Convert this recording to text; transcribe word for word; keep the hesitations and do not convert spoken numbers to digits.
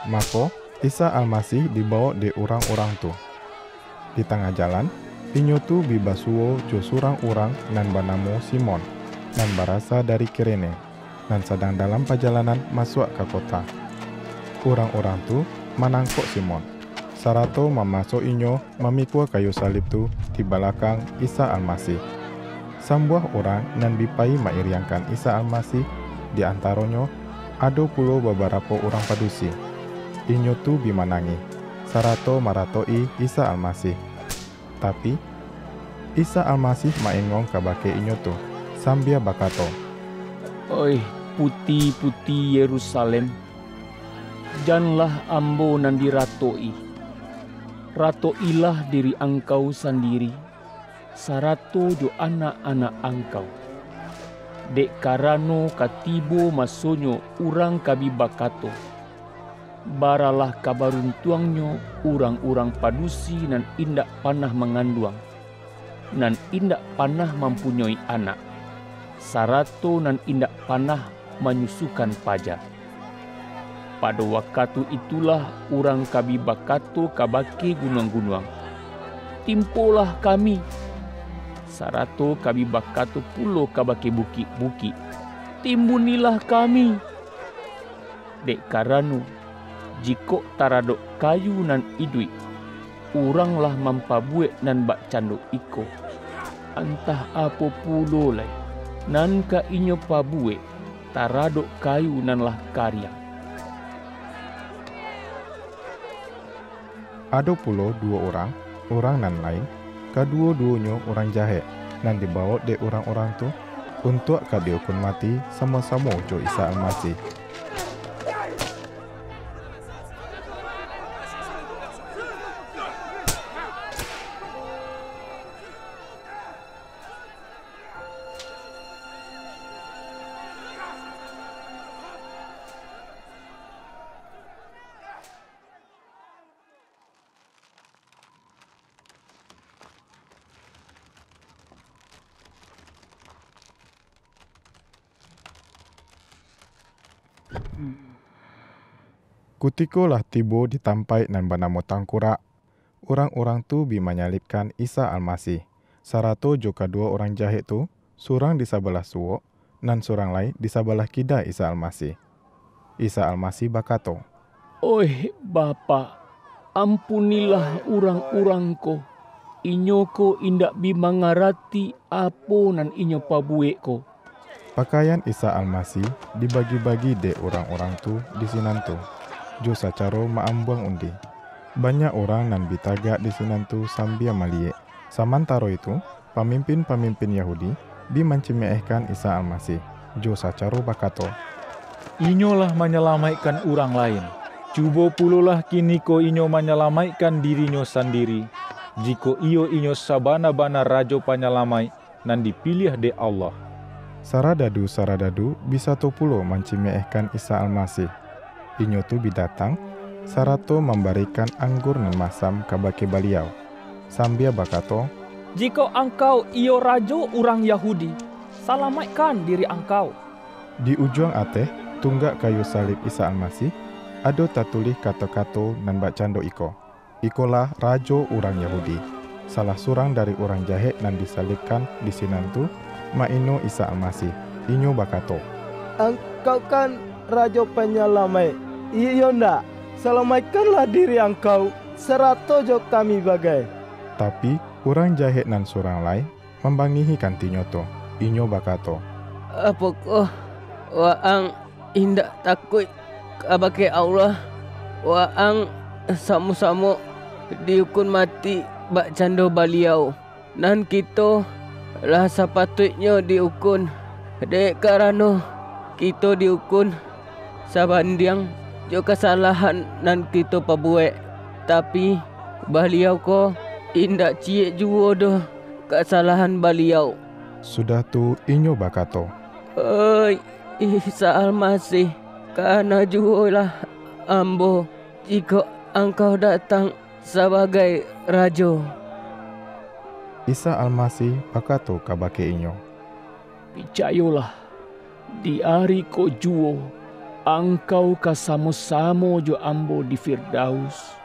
Maka Isa Almasih dibawa di orang-orang tu. Di tengah jalan, inyo tu bibasuo jo surang orang nan banamo Simon, nan barasa dari Kirene, nan sedang dalam perjalanan masuk ke kota. Orang-orang tu menangkap Simon. Sarato memasuk inyo memikul kayu salib tu di belakang Isa Almasih. Sambuah orang nan bipai mairiangkan Isa Almasih, di antaronyo ada puluh beberapa orang padusi. Inyo tu bimanangi, sarato maratoi Isa Almasih. Tapi Isa Almasih maengong kabake inyo tu, sambia bakato, Oi, putih-putih Yerusalem, janganlah ambo nan diratoi. Ratoilah diri engkau sendiri, sarato jo anak-anak engkau. Dek karano katibo masonyo urang kabi bakato. Baralah kabaruntuangnya urang-urang padusi nan indak panah menganduang, nan indak panah mempunyai anak, sarato nan indak panah menyusukan pajar. Pada waktu itulah urang kabi bakato kabake gunung-gunung, timpolah kami. Sarato kabi bakato pulo kabake bukit-bukit, timbunilah kami. Dek karano jiko taradok kayu nan idui, uranglah mampabuek nan bak cando iko. Antah apa pulo lai, nan ka inyo pabuek taradok kayu nan lah karya. ada puluh dua orang, orang nan lain, kedua-duanya orang jahat, nan dibawa de orang-orang tu untuk dihukum mati sama-sama jo Isa Almasih. Kutiko lah tibo ditampai nan banamo tangkurak. Orang-orang tu bi menyalibkan Isa Almasih. Sarato jo kedua orang jahat tu, surang di sebelah suwok, nan surang lain di sebelah kida Isa Almasih. Isa Almasih bakato, Oi Bapa, ampunilah urang-urang ko. Inyo ko indak bi mangarati apo nan inyo pabuek ko. Pakaian Isa Almasih dibagi-bagi de orang-orang tu di sinan tu. Jo sacaro maambuang undi. Banyak orang nan bitagak di sinan tu sambia maliek. Samantaro itu, pemimpin-pemimpin Yahudi bi mencemehkan Isa Almasih. Jo sacaro bakato, Inyolah menyelamatkan orang lain. Cuba pulolah kini ko inyo menyelamatkan dirinyo sendiri. Jiko iyo inyo sabana-bana rajo panyelamai nan dipilih de Allah. Saradadu-saradadu bisa to pulo mencemehkan Isa Almasih. Inyo tu bidatang, sarato memberikan anggur nan masam kabake baliau. Sambia bakato, Jika engkau iyo rajo orang Yahudi, selamatkan diri engkau. di ujung ateh tunggak kayu salib Isa Almasih, ada tatulih kata-kata nan bacando iko. Ikolah rajo orang Yahudi. Salah surang dari orang jahat nan disalibkan di sinan tu, maino Isa Almasih. Inyo bakato, Engkau kan raja penyelamat. Iya ndak? Selamatkanlah diri engkau, serato jo kami bagai. Tapi orang jahat nan surang lain membangihi kantinyo to. Inyo bakato, Apakah waang indak takut kabake Allah? Waang sama-sama dihukum mati bak cando baliau. Nan kita lah sepatutnya dihukum. Dek karano kita dihukum sabanding jo kesalahan nan kita pabuek. Tapi baliau ko indak cie juo doh kesalahan baliau. sudah tu inyo bakato, Oi, Isa Almasih, karena jualah ambo jika engkau datang sebagai raja. Isa Almasih bakato kabake inyo, Picayolah, di hari ko juo, Angkau kasamo-samo jo ambo di Firdaus.